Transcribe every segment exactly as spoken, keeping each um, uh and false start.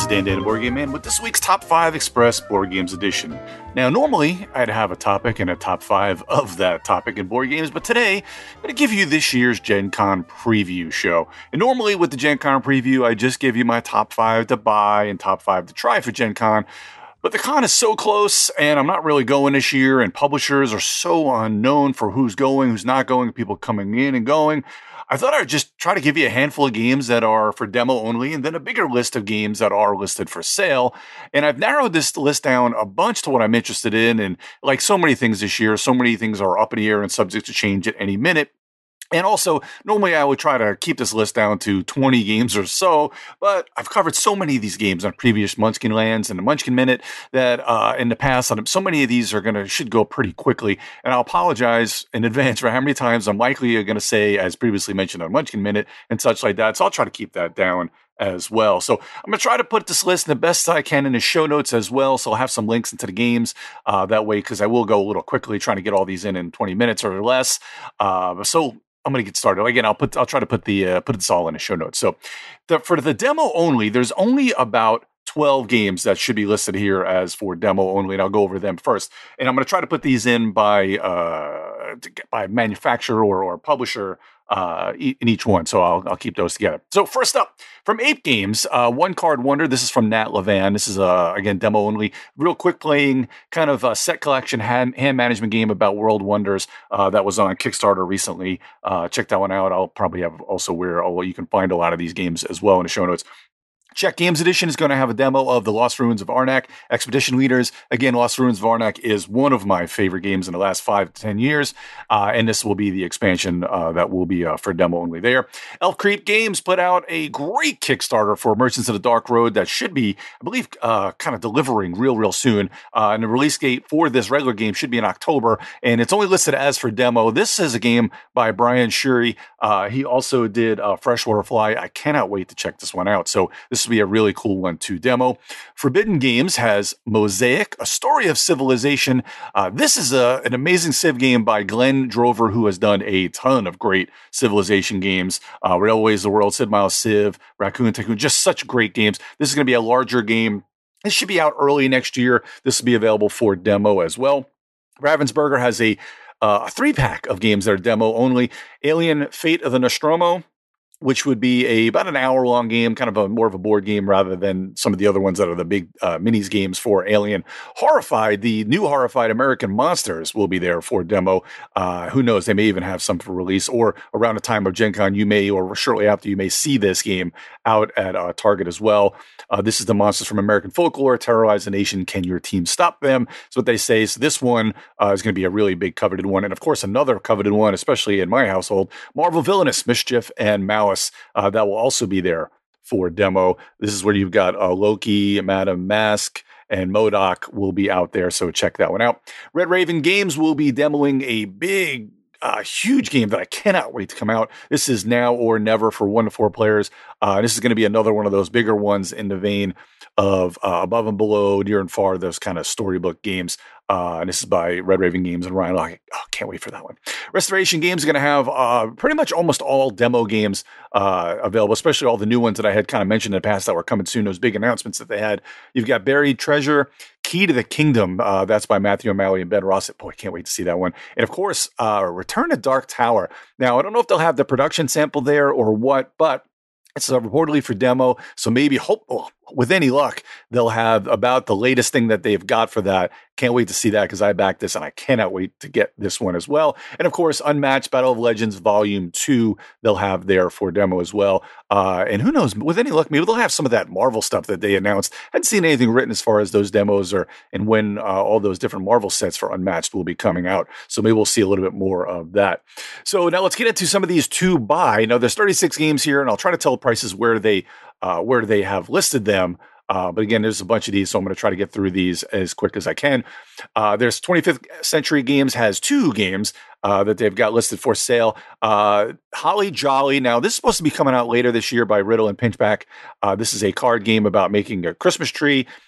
Dan Dan Board Game Man with this week's Top five Express Board Games Edition. Now, normally I'd have a topic and a top five of that topic in board games, but today I'm going to give you this year's Gen Con preview show. And normally with the Gen Con preview, I just give you my top five to buy and top five to try for Gen Con. But the con is so close, and I'm not really going this year, and publishers are so unknown for who's going, who's not going, people coming in and going. I thought I'd just try to give you a handful of games that are for demo only, and then a bigger list of games that are listed for sale. And I've narrowed this list down a bunch to what I'm interested in. And like so many things this year, so many things are up in the air and subject to change at any minute. And also, normally I would try to keep this list down to twenty games or so, but I've covered so many of these games on previous Munchkin Lands and the Munchkin Minute that uh, in the past, so many of these are going to should go pretty quickly. And I'll apologize in advance for how many times I'm likely going to say, as previously mentioned on Munchkin Minute and such like that. So I'll try to keep that down as well. So I'm going to try to put this list the best I can in the show notes as well. So I'll have some links into the games uh, that way, because I will go a little quickly trying to get all these in in twenty minutes or less. Uh, so I'm going to get started. Again, I'll put, I'll try to put the, uh, put this all in the show notes. So the, for the demo only, there's only about twelve games that should be listed here as for demo only, and I'll go over them first. And I'm going to try to put these in by, uh, by manufacturer or, or publisher uh, in each one. So I'll, I'll keep those together. So first up, from Ape Games, uh, One Card Wonder. This is from Nat Levan. This is, uh, again, demo only. Real quick playing kind of a set collection hand, hand management game about world wonders uh, that was on Kickstarter recently. Uh, check that one out. I'll probably have also where oh, you can find a lot of these games as well in the show notes. Czech Games Edition is going to have a demo of The Lost Ruins of Arnak, Expedition Leaders. Again, Lost Ruins of Arnak is one of my favorite games in the last five to ten years, uh, and this will be the expansion uh, that will be uh, for demo only there. Elf Creep Games put out a great Kickstarter for Merchants of the Dark Road that should be, I believe, uh, kind of delivering real, real soon. Uh, and the release date for this regular game should be in October, and it's only listed as for demo. This is a game by Brian Shuri. Uh, he also did uh, Freshwater Fly. I cannot wait to check this one out. So this be a really cool one to demo. Forbidden Games has Mosaic, A Story of Civilization. Uh, this is a, an amazing Civ game by Glenn Drover, who has done a ton of great Civilization games. Uh, Railways of the World, Sid Meier's Civ, Raccoon Tycoon, just such great games. This is going to be a larger game. This should be out early next year. This will be available for demo as well. Ravensburger has a, uh, a three-pack of games that are demo only. Alien Fate of the Nostromo, which would be a about an hour long game, kind of a more of a board game rather than some of the other ones that are the big uh, minis games for Alien. Horrified, the new Horrified American Monsters will be there for demo. Uh, who knows? They may even have some for release, or around the time of Gen Con, you may, or shortly after, you may see this game out at uh, Target as well. Uh, this is the monsters from American folklore terrorize the nation. Can your team stop them? That's what they say. So this one uh, is going to be a really big coveted one, and of course another coveted one, especially in my household, Marvel Villainous, Mischief, and Malice. Uh, that will also be there for demo. This is where you've got uh, Loki, Madam Mask, and MODOK will be out there, so check that one out. Red Raven Games will be demoing a big, uh, huge game that I cannot wait to come out. This is Now or Never for one to four players. Uh, this is going to be another one of those bigger ones in the vein of uh, Above and Below, Near and Far, those kind of storybook games. Uh, and this is by Red Raven Games and Ryan Locke. Oh, can't wait for that one. Restoration Games is going to have uh, pretty much almost all demo games uh, available, especially all the new ones that I had kind of mentioned in the past that were coming soon, those big announcements that they had. You've got Buried Treasure, Key to the Kingdom. Uh, that's by Matthew O'Malley and Ben Rossett. Boy, can't wait to see that one. And of course, uh, Return to Dark Tower. Now, I don't know if they'll have the production sample there or what, but it's uh, reportedly for demo, so maybe, hope, well, with any luck, they'll have about the latest thing that they've got for that. Can't wait to see that, because I backed this, and I cannot wait to get this one as well. And of course, Unmatched Battle of Legends Volume two, they'll have there for demo as well. Uh, and who knows, with any luck, maybe they'll have some of that Marvel stuff that they announced. I hadn't seen anything written as far as those demos or and when uh, all those different Marvel sets for Unmatched will be coming out. So maybe we'll see a little bit more of that. So now let's get into some of these to buy. Now, there's thirty-six games here, and I'll try to tell prices where they uh, where they have listed them. Uh, but again, there's a bunch of these, so I'm going to try to get through these as quick as I can. Uh, there's twenty-fifth Century Games has two games uh, that they've got listed for sale. Uh, Holly Jolly. Now, this is supposed to be coming out later this year by Riddle and Pinchback. Uh, this is a card game about making a Christmas tree.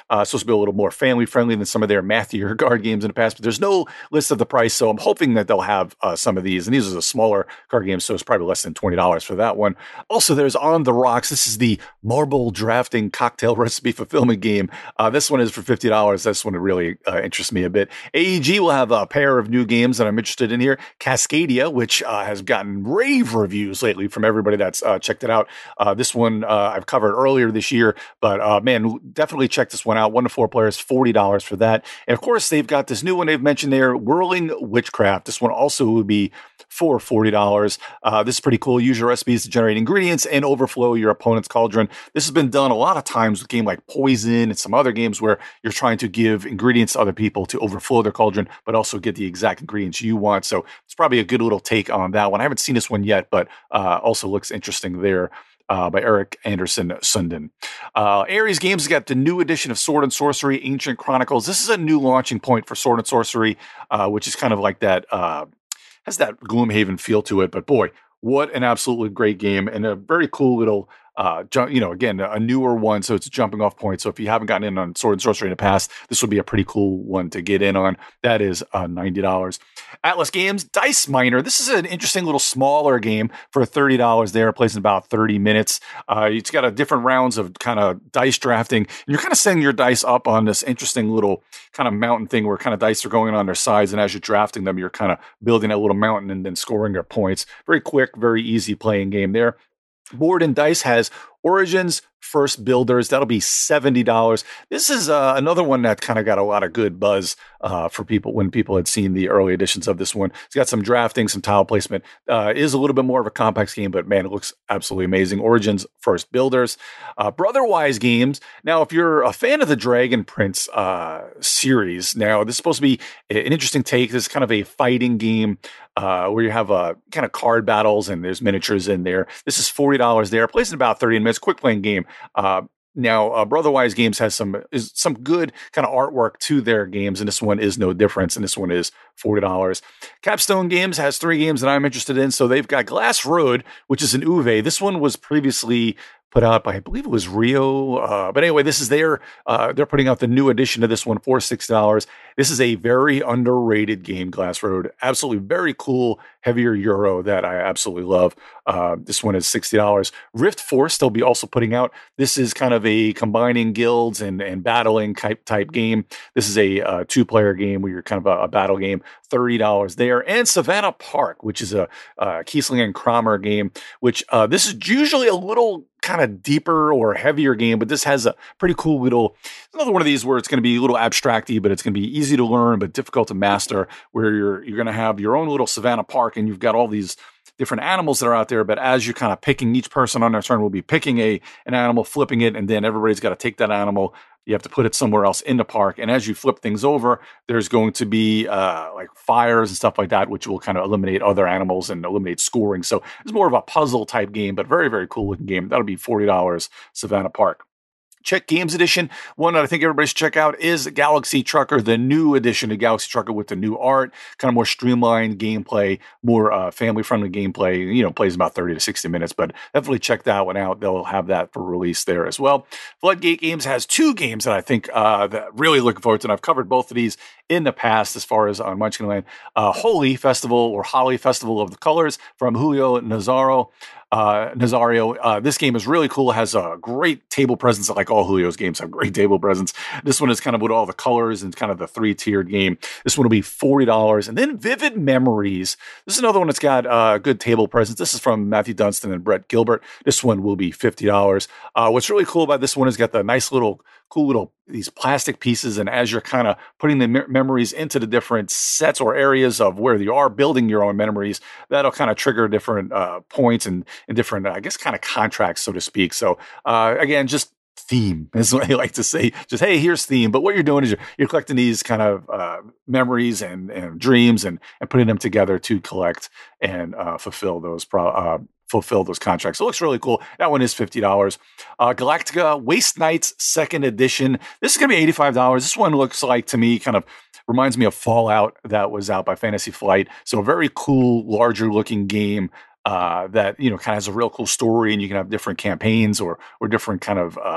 Uh, supposed to be a little more family friendly than some of their mathier card games in the past, but there's no list of the price. So I'm hoping that they'll have uh, some of these. And these are the smaller card games, so it's probably less than twenty dollars for that one. Also, there's On the Rocks. This is the marble drafting cocktail recipe fulfillment game. Uh, this one is for fifty dollars. This one really uh, interests me a bit. A E G will have a pair of new games that I'm interested in here. Cascadia, which uh, has gotten rave reviews lately from everybody that's uh, checked it out. Uh, this one uh, I've covered earlier this year, but uh, man, definitely check this one out. One to four players, forty dollars for that. And of course, they've got this new one they've mentioned there, Whirling Witchcraft. This one also would be for forty dollars. Uh, this is pretty cool. Use your recipes to generate ingredients and overflow your opponent's cauldron. This has been done a lot of times with games like Poison and some other games where you're trying to give ingredients to other people to overflow their cauldron, but also get the exact ingredients you want. So it's probably a good little take on that one. I haven't seen this one yet, but uh, also looks interesting there. Uh, by Eric Anderson Sundin. Uh, Ares Games has got the new edition of Sword and Sorcery, Ancient Chronicles. This is a new launching point for Sword and Sorcery, uh, which is kind of like that, uh, has that Gloomhaven feel to it. But boy, what an absolutely great game and a very cool little, uh, ju- you know, again, a newer one. So it's a jumping off point. So if you haven't gotten in on Sword and Sorcery in the past, this would be a pretty cool one to get in on. That is uh, ninety dollars. Atlas Games, Dice Miner. This is an interesting little smaller game for thirty dollars there. It plays in about thirty minutes. Uh, it's got a different rounds of kind of dice drafting. And you're kind of setting your dice up on this interesting little kind of mountain thing where kind of dice are going on their sides. And as you're drafting them, you're kind of building a little mountain and then scoring your points. Very quick, very easy playing game there. Board and Dice has Origins, First Builders. That'll be seventy dollars. This is uh, another one that kind of got a lot of good buzz uh, for people when people had seen the early editions of this one. It's got some drafting, some tile placement. Uh, is a little bit more of a complex game, but man, it looks absolutely amazing. Origins, First Builders. Uh, Brotherwise Games. Now, if you're a fan of the Dragon Prince uh, series, now this is supposed to be an interesting take. This is kind of a fighting game uh, where you have uh, kind of card battles and there's miniatures in there. This is forty dollars there. Plays in about thirty minutes. Quick playing game. Uh, now, uh, Brotherwise Games has some is some good kind of artwork to their games, and this one is no difference, and this one is forty dollars. Capstone Games has three games that I'm interested in, so they've got Glass Road, which is an Uwe. This one was previously put out by, I believe it was Rio. Uh, but anyway, this is their, uh, they're putting out the new edition of this one for sixty dollars. This is a very underrated game, Glass Road. Absolutely very cool, heavier Euro that I absolutely love. Uh, this one is sixty dollars. Rift Force, they'll be also putting out. This is kind of a combining guilds and, and battling type, type game. This is a uh, two-player game where you're kind of a, a battle game. thirty dollars there. And Savannah Park, which is a uh, Kiesling and Kramer game, which uh, this is usually a little kind of deeper or heavier game, but this has a pretty cool little, another one of these where it's going to be a little abstracty, but it's going to be easy to learn, but difficult to master, where you're, you're going to have your own little Savannah Park and you've got all these different animals that are out there. But as you're kind of picking, each person on their turn will be picking a, an animal, flipping it, and then everybody's got to take that animal. You have to put it somewhere else in the park. And as you flip things over, there's going to be uh, like fires and stuff like that, which will kind of eliminate other animals and eliminate scoring. So it's more of a puzzle type game, but very, very cool looking game. That'll be forty dollars, Savannah Park. Czech Games Edition. One that I think everybody should check out is Galaxy Trucker, the new edition of Galaxy Trucker with the new art, kind of more streamlined gameplay, more uh, family-friendly gameplay. You know, plays about thirty to sixty minutes, but definitely check that one out. They'll have that for release there as well. Floodgate Games has two games that I think uh, that really looking forward to, and I've covered both of these in the past as far as on Munchkinland. Uh, Holy Festival or Holly Festival of the Colors from Julio Nazzaro. Uh, Nazario. Uh, this game is really cool. It has a great table presence, like all Julio's games have great table presence. This one is kind of with all the colors and kind of the three-tiered game. This one will be forty dollars. And then Vivid Memories. This is another one that's got uh, good table presence. This is from Matthew Dunstan and Brett Gilbert. This one will be fifty dollars. Uh, what's really cool about this one is got the nice little, cool little, these plastic pieces. And as you're kind of putting the me- memories into the different sets or areas of where you are building your own memories, that'll kind of trigger different uh, points and, and different, I guess, kind of contracts, so to speak. So uh, again, just theme is what I like to say. Just, hey, here's theme. But what you're doing is you're, you're collecting these kind of uh, memories and, and dreams and, and putting them together to collect and uh, fulfill those pro- uh, fulfill those contracts. So it looks really cool. That one is fifty dollars. Uh, Galactica Waste Knights second edition. This is going to be eighty-five dollars. This one looks like, to me, kind of reminds me of Fallout that was out by Fantasy Flight. So a very cool, larger looking game uh, that, you know, kind of has a real cool story, and you can have different campaigns or or different kind of uh,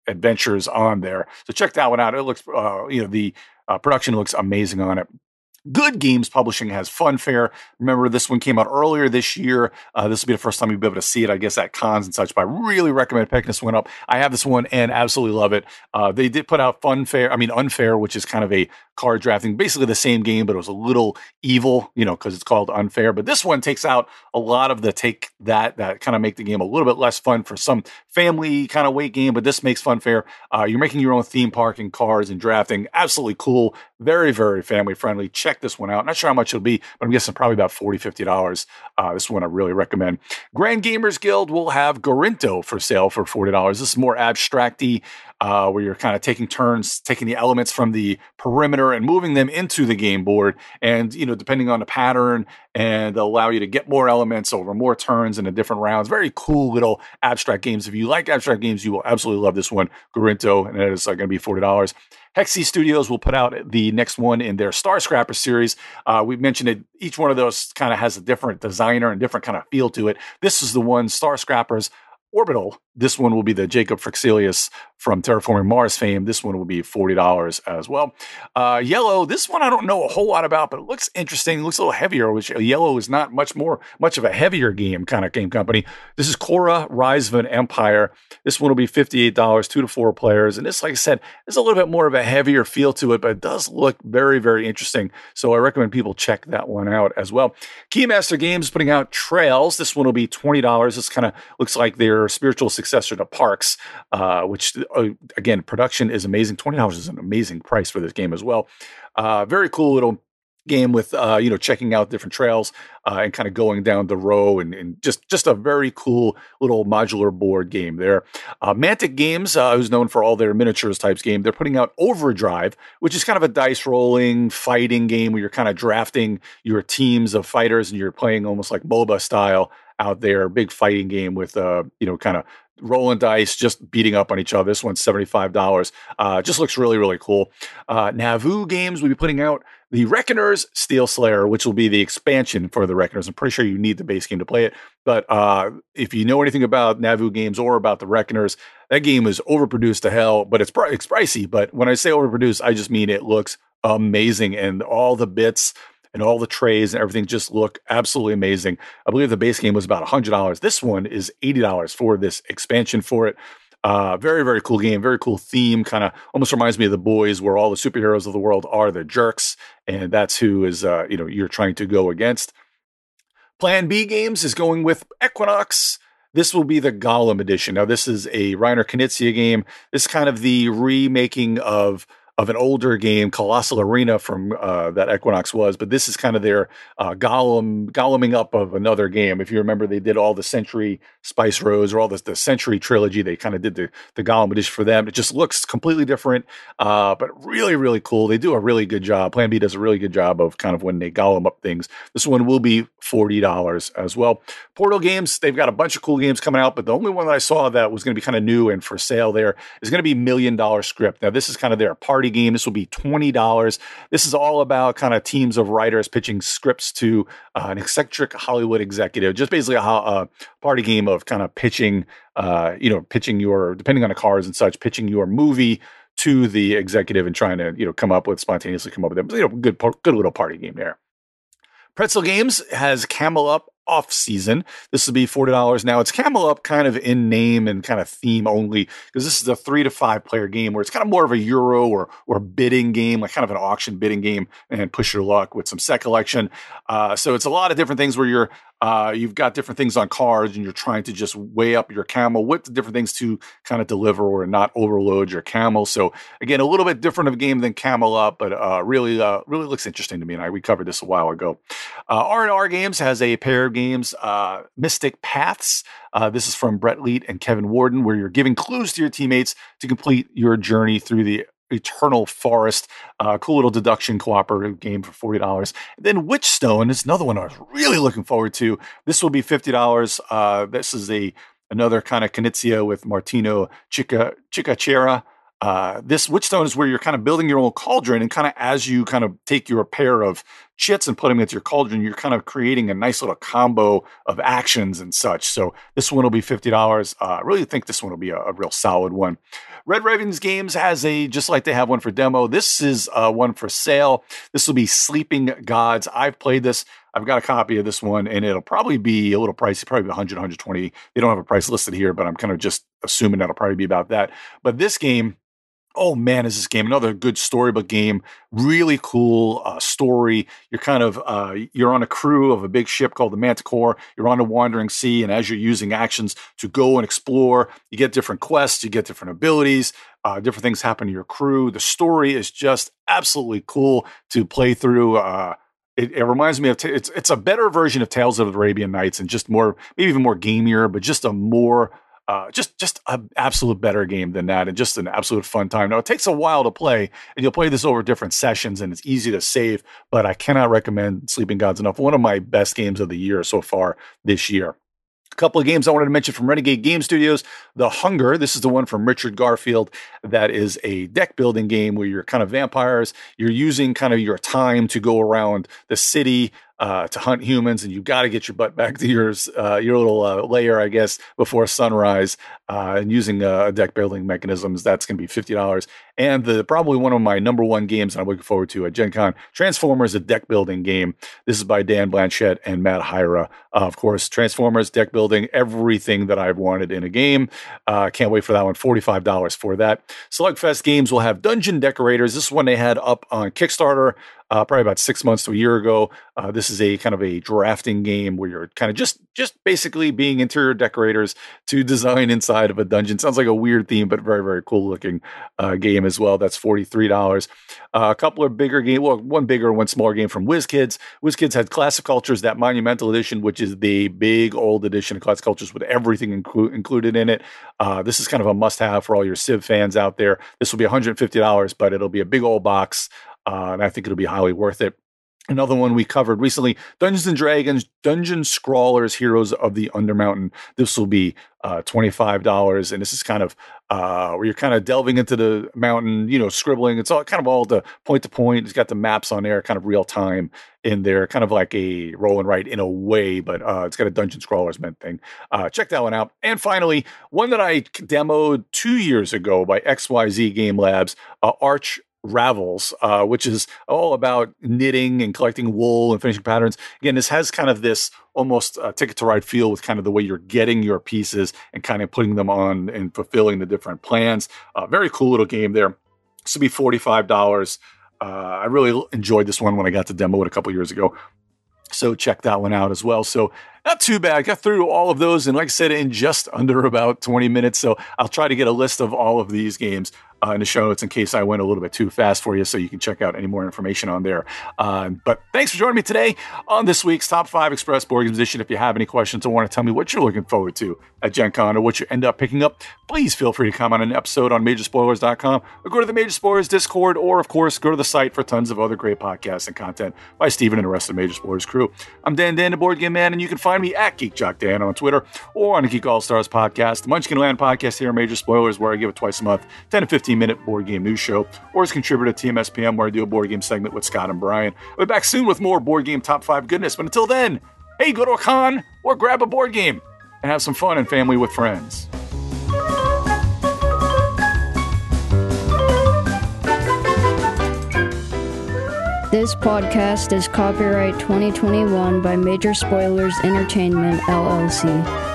adventures on there. So check that one out. It looks, uh, you know, the uh, production looks amazing on it. Good Games Publishing has Funfair. Remember, this one came out earlier this year. Uh, this will be the first time you'll be able to see it, I guess, at cons and such. But I really recommend picking this one up. I have this one and absolutely love it. Uh, they did put out Funfair, I mean, Unfair, which is kind of a card drafting, basically the same game, but it was a little evil, you know, because it's called Unfair. But this one takes out a lot of the take that, that kind of make the game a little bit less fun for some family kind of weight game. But this makes Funfair. Uh, you're making your own theme park and cards and drafting. Absolutely cool. Very, very family friendly. Check this one out. Not sure how much it'll be, but I'm guessing probably about forty dollars, fifty dollars. Uh, this one I really recommend. Grand Gamers Guild will have Gorinto for sale for forty dollars. This is more abstracty, uh, where you're kind of taking turns, taking the elements from the perimeter and moving them into the game board. And, you know, depending on the pattern, and they'll allow you to get more elements over more turns in the different rounds. Very cool little abstract games. If you like abstract games, you will absolutely love this one, Gorinto, and it is uh, going to be forty dollars. Hexy Studios will put out the next one in their Star Scrapper series. Uh, we've mentioned it. Each one of those kind of has a different designer and different kind of feel to it. This is the one, Star Scrappers Orbital. This one will be the Jacob Frixelius from Terraforming Mars fame. This one will be forty dollars as well. Uh, Yellow, this one I don't know a whole lot about, but it looks interesting. It looks a little heavier, which Yellow is not much more, much of a heavier game kind of game company. This is Korra, Rise of an Empire. This one will be fifty-eight dollars, two to four players. And this, like I said, is a little bit more of a heavier feel to it, but it does look very, very interesting. So I recommend people check that one out as well. Keymaster Games is putting out Trails. This one will be twenty dollars. This kind of looks like their spiritual successor to Parks, uh, which, uh, again, production is amazing. twenty dollars is an amazing price for this game as well. Uh, very cool little game with, uh, you know, checking out different trails uh, and kind of going down the row, and, and just, just a very cool little modular board game there. Uh, Mantic Games, uh, who's known for all their miniatures types game, they're putting out Overdrive, which is kind of a dice rolling fighting game where you're kind of drafting your teams of fighters and you're playing almost like MOBA style out there. Big fighting game with, uh, you know, kind of rolling dice, just beating up on each other. This one's seventy-five dollars. Uh, just looks really, really cool. Uh, Navu Games will be putting out the Reckoners Steel Slayer, which will be the expansion for the Reckoners. I'm pretty sure you need the base game to play it. But uh, if you know anything about Navu Games or about the Reckoners, that game is overproduced to hell, but it's, it's pricey. But when I say overproduced, I just mean it looks amazing. And all the bits and all the trays and everything just look absolutely amazing. I believe the base game was about one hundred dollars. This one is eighty dollars for this expansion for it. Uh, very, very cool game. Very cool theme. Kind of almost reminds me of The Boys, where all the superheroes of the world are the jerks. And that's who is, uh, you know, you're trying to go against. Plan B Games is going with Equinox. This will be the Gollum edition. Now, this is a Reiner Knizia game. This is kind of the remaking of of an older game, Colossal Arena, from uh, that Equinox was, but this is kind of their uh, Gollum, Golluming up of another game. If you remember, they did all the Century Spice Rose or all the, the Century trilogy. They kind of did the, the Gollum edition for them. It just looks completely different, uh, but really, really cool. They do a really good job. Plan B does a really good job of kind of when they Gollum up things. This one will be forty dollars as well. Portal Games, they've got a bunch of cool games coming out, but the only one that I saw that was going to be kind of new and for sale there is going to be Million Dollar Script. Now, this is kind of their party game. This will be twenty dollars. This is all about kind of teams of writers pitching scripts to uh, an eccentric Hollywood executive. Just basically a, a party game of kind of pitching, uh, you know, pitching your, depending on the cards and such, pitching your movie to the executive and trying to, you know, come up with, spontaneously come up with it. You know, good, good little party game there. Pretzel Games has Camel Up off season. This will be forty dollars. Now, it's Camel Up kind of in name and kind of theme only, because this is a three to five player game where it's kind of more of a Euro or or bidding game, like kind of an auction bidding game, and push your luck with some set collection. Uh, so it's a lot of different things where you're uh, you've got different things on cards and you're trying to just weigh up your camel with the different things to kind of deliver or not overload your camel. So again, a little bit different of a game than Camel Up, but uh, really, uh, really looks interesting to me. And I we covered this a while ago. Uh, R and R Games has a pair of games, uh, Mystic Paths. Uh, this is from Brett Leet and Kevin Warden, where you're giving clues to your teammates to complete your journey through the Eternal Forest. Uh, cool little deduction cooperative game for forty dollars. And then Witchstone is another one I was really looking forward to. This will be fifty dollars. Uh, this is a another kind of Knizia with Martino Chica Chicachera. Uh, this Witchstone is where you're kind of building your own cauldron, and kind of as you kind of take your pair of chits and put them into your cauldron, you're kind of creating a nice little combo of actions and such. So this one will be fifty dollars. Uh, I really think this one will be a, a real solid one. Red Ravens Games has a, just like they have one for demo, this is uh, one for sale. This will be Sleeping Gods. I've played this. I've got a copy of this one, and it'll probably be a little pricey, probably one hundred, one hundred twenty. They don't have a price listed here, but I'm kind of just assuming that'll probably be about that. But this game, oh man, is this game another good storybook game? Really cool uh, story. You're kind of uh, you're on a crew of a big ship called the Manticore. You're on a wandering sea, and as you're using actions to go and explore, you get different quests, you get different abilities, uh, different things happen to your crew. The story is just absolutely cool to play through. Uh, It, it reminds me of, t- it's it's a better version of Tales of the Arabian Nights, and just more, maybe even more gamier, but just a more, uh, just just an absolute better game than that, and just an absolute fun time. Now, it takes a while to play, and you'll play this over different sessions, and it's easy to save, but I cannot recommend Sleeping Gods enough. One of my best games of the year so far this year. A couple of games I wanted to mention from Renegade Game Studios. The Hunger, this is the one from Richard Garfield. That is a deck building game where you're kind of vampires. You're using kind of your time to go around the city uh, to hunt humans, and you got to get your butt back to your uh, your little uh, lair, I guess, before sunrise. Uh, and using uh, deck building mechanisms, that's going to be fifty dollars. And the probably one of my number one games I'm looking forward to at Gen Con, Transformers, a deck building game. This is by Dan Blanchett and Matt Hyra. Uh, of course, Transformers, deck building, everything that I've wanted in a game. Uh, can't wait for that one. forty-five dollars for that. Slugfest Games will have Dungeon Decorators. This is one they had up on Kickstarter uh, probably about six months to a year ago. Uh, this is a kind of a drafting game where you're kind of just just basically being interior decorators to design inside of a dungeon. Sounds like a weird theme, but very, very cool looking uh, game as well. That's forty-three dollars. Uh, a couple of bigger games, well, one bigger, one smaller game from WizKids. WizKids had Classic Cultures, that Monumental Edition, which is the big old edition of Classic Cultures with everything inclu- included in it. Uh, this is kind of a must-have for all your Civ fans out there. This will be one hundred fifty dollars, but it'll be a big old box, uh, and I think it'll be highly worth it. Another one we covered recently, Dungeons and Dragons, Dungeon Scrawlers, Heroes of the Undermountain. This will be uh, twenty-five dollars, and this is kind of uh, where you're kind of delving into the mountain, you know, scribbling. It's all kind of all the point to point. It's got the maps on there, kind of real time in there, kind of like a roll and write in a way, but uh, it's got a Dungeon Scrawlers meant thing. Uh, check that one out. And finally, one that I demoed two years ago by X Y Z Game Labs, uh, Arch Ravels, uh, which is all about knitting and collecting wool and finishing patterns. Again, this has kind of this almost uh, Ticket to Ride feel with kind of the way you're getting your pieces and kind of putting them on and fulfilling the different plans. Uh, very cool little game there. This will be forty-five dollars. Uh, I really enjoyed this one when I got to demo it a couple years ago. So check that one out as well. So not too bad. I got through all of those, and like I said, in just under about twenty minutes. So I'll try to get a list of all of these games uh, in the show notes in case I went a little bit too fast for you, so you can check out any more information on there. Uh, but thanks for joining me today on this week's Top five Express Board Games Edition. If you have any questions or want to tell me what you're looking forward to at Gen Con or what you end up picking up, please feel free to comment on an episode on major spoilers dot com or go to the Major Spoilers Discord, or of course, go to the site for tons of other great podcasts and content by Steven and the rest of the Major Spoilers crew. I'm Dan Dan, the Board Game Man, and you can find me at Geek Jock Dan on Twitter or on the Geek All Stars podcast, the Munchkin Land podcast here on Major Spoilers, where I give it twice a month, ten to fifteen minute board game news show, or as a contributor to T M S P M, where I do a board game segment with Scott and Brian. I'll be back soon with more board game top five goodness, but until then, hey, go to a con or grab a board game and have some fun and family with friends. This podcast is copyright twenty twenty-one by Major Spoilers Entertainment, L L C.